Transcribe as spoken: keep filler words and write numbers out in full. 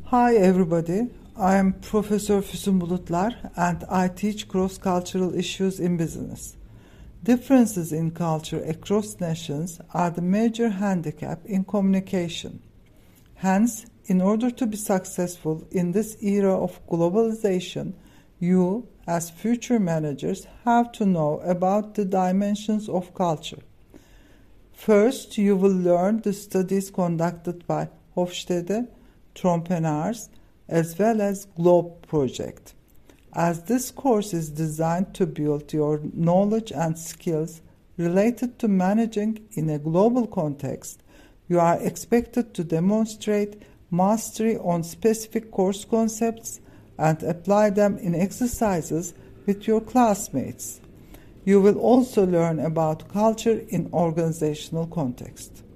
Hi everybody, I am Professor Füsun Bulutlar and I teach cross-cultural issues in business. Differences in culture across nations are the major handicap in communication. Hence, in order to be successful in this era of globalization, you, as future managers, have to know about the dimensions of culture. First, you will learn the studies conducted by Hofstede, Trompenaars, as well as Globe project. As this course is designed to build your knowledge and skills related to managing in a global context, you are expected to demonstrate mastery on specific course concepts and apply them in exercises with your classmates. You will also learn about culture in organizational context.